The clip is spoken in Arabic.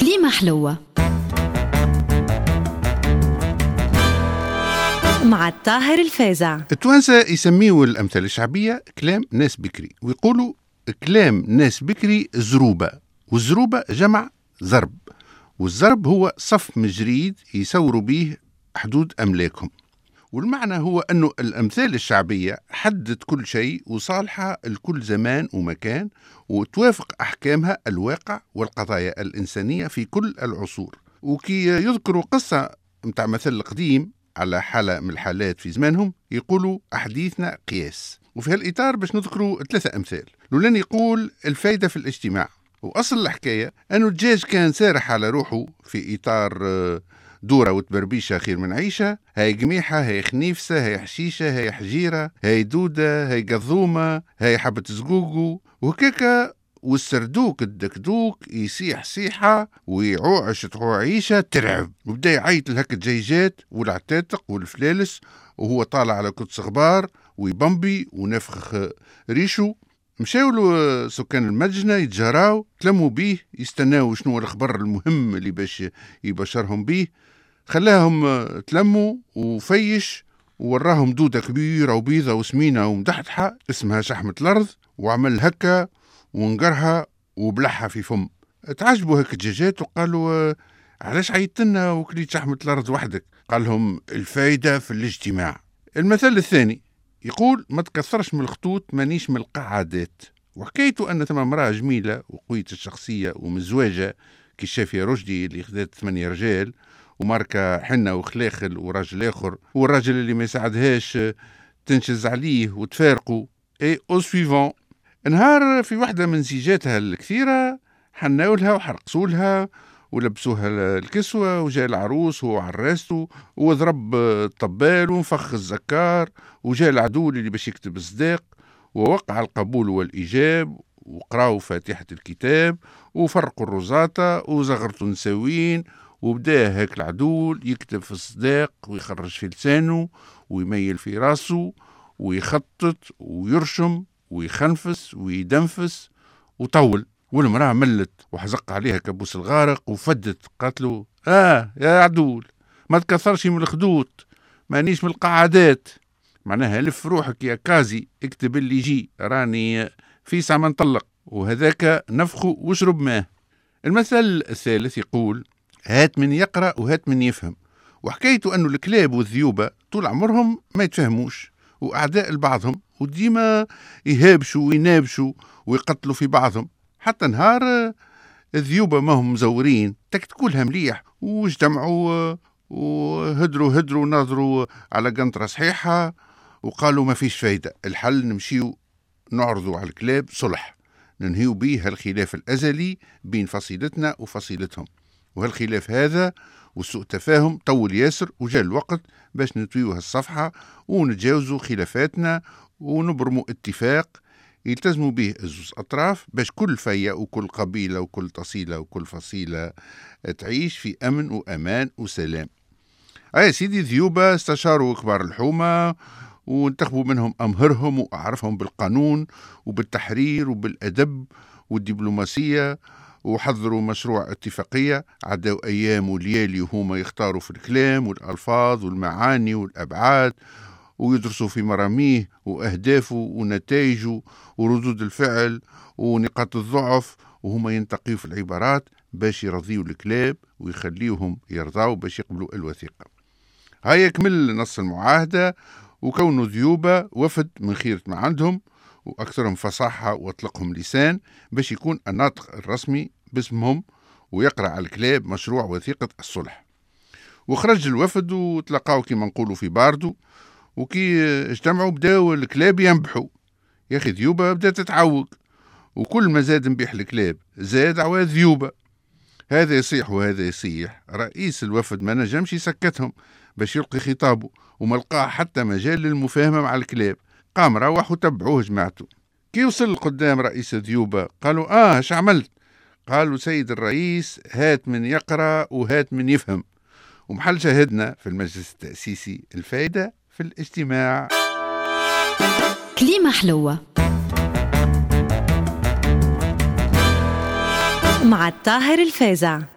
كليمة حلوة مع الطاهر الفازع. التوانسة يسميوا الأمثال الشعبية كلام ناس بكري، ويقولوا كلام ناس بكري زروبة، والزروبة جمع زرب، والزرب هو صف مجريد يسوروا به حدود أملاكهم. والمعنى هو أنه الأمثال الشعبية حدد كل شيء وصالحة لكل زمان ومكان، وتوافق أحكامها الواقع والقضايا الإنسانية في كل العصور. وكي يذكروا قصة متاع مثل قديم على حالة من الحالات في زمانهم يقولوا أحاديثنا قياس. وفي هالإطار باش نذكروا 3 أمثال. الأولاني يقول الفايدة في الاجتماع، وأصل الحكاية أنه الدجاج كان سارح على روحه في إطار دورة وتبربيشة خير من عيشة، هاي قميحة، هاي خنيفسة، هاي حشيشة، هاي حجيرة، هاي دودة، هاي قضومة، هاي حبة زقوقو، وهكاكا. والسردوك الدكدوك يسيح سيحة ويعوعش تعوعيشة ترعب، وبدأ يعيط لهك الجيجات والعتاتق والفلالس وهو طالع على كتس غبار ويبمبي ونفخ ريشو. مشاولوا سكان المدينة يتجاراو، تلموا بيه يستناو شنو الخبر المهم اللي باش يبشرهم بيه. خلاهم تلموا وفيش ووراهم دودة كبيرة وبيضة وسمينة ومدحدحة اسمها شحمة الأرض، وعمل هكا ونقرها وبلعها في فم. تعجبوا هيك الدجاجات وقالوا علاش عيطتنا وكليت شحمة الأرض وحدك؟ قال لهم الفايدة في الاجتماع. المثال الثاني يقول ما تكثرش من الخطوط مانيش من القعادات. وحكيته أن ثم امرأة جميلة وقوية الشخصية ومزواجة كالشافية رشدي اللي خذت 8 رجال وماركة حنة وخلاخل وراجل آخر، والراجل اللي ما يساعدهاش تنشز عليه وتفارقوا. اي او سويفون نهار في واحدة من زيجاتها الكثيرة حناولها وحرقسولها ولبسوها الكسوة، وجاء العروس وهو عراسته وضرب الطبال ونفخ الزكار، وجاء العدو اللي باش يكتب الصداق ووقع القبول والإيجاب، وقراوا فاتحة الكتاب وفرقوا الرزاطة وزغرتوا نساوين، وبدأ هيك العدو يكتب في الصداق ويخرج في لسانه ويميل في راسه ويخطط ويرشم ويخنفس ويدنفس وطول. والمرأة ملت وحزق عليها كبوس الغارق وفدت، قالت له يا عدول ما تكثرش من الخدود مانيش من القعادات، معناها لف روحك يا كازي، اكتب اللي يجي، راني في ساعة ما نطلق، وهذاك نفخه واشرب ماه. المثل الثالث يقول هات من يقرأ وهات من يفهم. وحكيته أنه الكلاب والذيوبة طول عمرهم ما يتفهموش وأعداء لبعضهم، وديما يهابشوا وينابشوا ويقتلوا في بعضهم. حتى نهار الذيوبة ما هم مزورين تكتكولها مليح واجتمعوا وهدروا ناظروا على قنطرة صحيحة وقالوا ما فيش فايدة، الحل نمشيو نعرضوا على الكلاب صلح ننهيو بيه هالخلاف الأزلي بين فصيلتنا وفصيلتهم. وهالخلاف هذا وسوء تفاهم طول ياسر، وجاء الوقت باش نتويو هالصفحة ونتجاوزوا خلافاتنا ونبرموا اتفاق يلتزموا به الزوز أطراف باش كل فيا وكل قبيلة وكل تصيلة وكل فصيلة تعيش في أمن وأمان وسلام. يا سيدي ذيوبة استشاروا كبار الحومة وانتخبوا منهم أمهرهم وأعرفهم بالقانون وبالتحرير وبالأدب والدبلوماسية، وحضروا مشروع اتفاقية عدوا أيام وليالي وهما يختاروا في الكلام والألفاظ والمعاني والأبعاد، ويدرسوا في مراميه وأهدافه ونتائجه وردود الفعل ونقاط الضعف، وهما ينتقيوا في العبارات باش يرضيوا الكلاب ويخليوهم يرضاوا باش يقبلوا الوثيقة. هاي يكمل نص المعاهدة، وكونوا ذيوبة وفد من خيرة ما عندهم وأكثرهم فصاحة وأطلقهم لسان باش يكون الناطق الرسمي باسمهم ويقرأ على الكلاب مشروع وثيقة الصلح. وخرج الوفد وتلقاوا كما نقولوا في باردو، وكي اجتمعوا بداوا الكلاب ينبحوا. يا أخي ذيوبة بدأت تتعوق، وكل ما زاد نبيح الكلاب زاد عواد ذيوبة، هذا يصيح وهذا يصيح. رئيس الوفد ما نجمش يسكتهم باش يلقي خطابه، وما لقاه حتى مجال للمفاهمة مع الكلاب، قام روح وتبعوه جماعته. كي وصل قدام رئيس ذيوبة قالوا اش عملت؟ قالوا سيد الرئيس هات من يقرأ وهات من يفهم. ومحل شاهدنا في المجلس التأسيسي الفايدة في الاجتماع. كليمة حلوة مع الطاهر الفازع.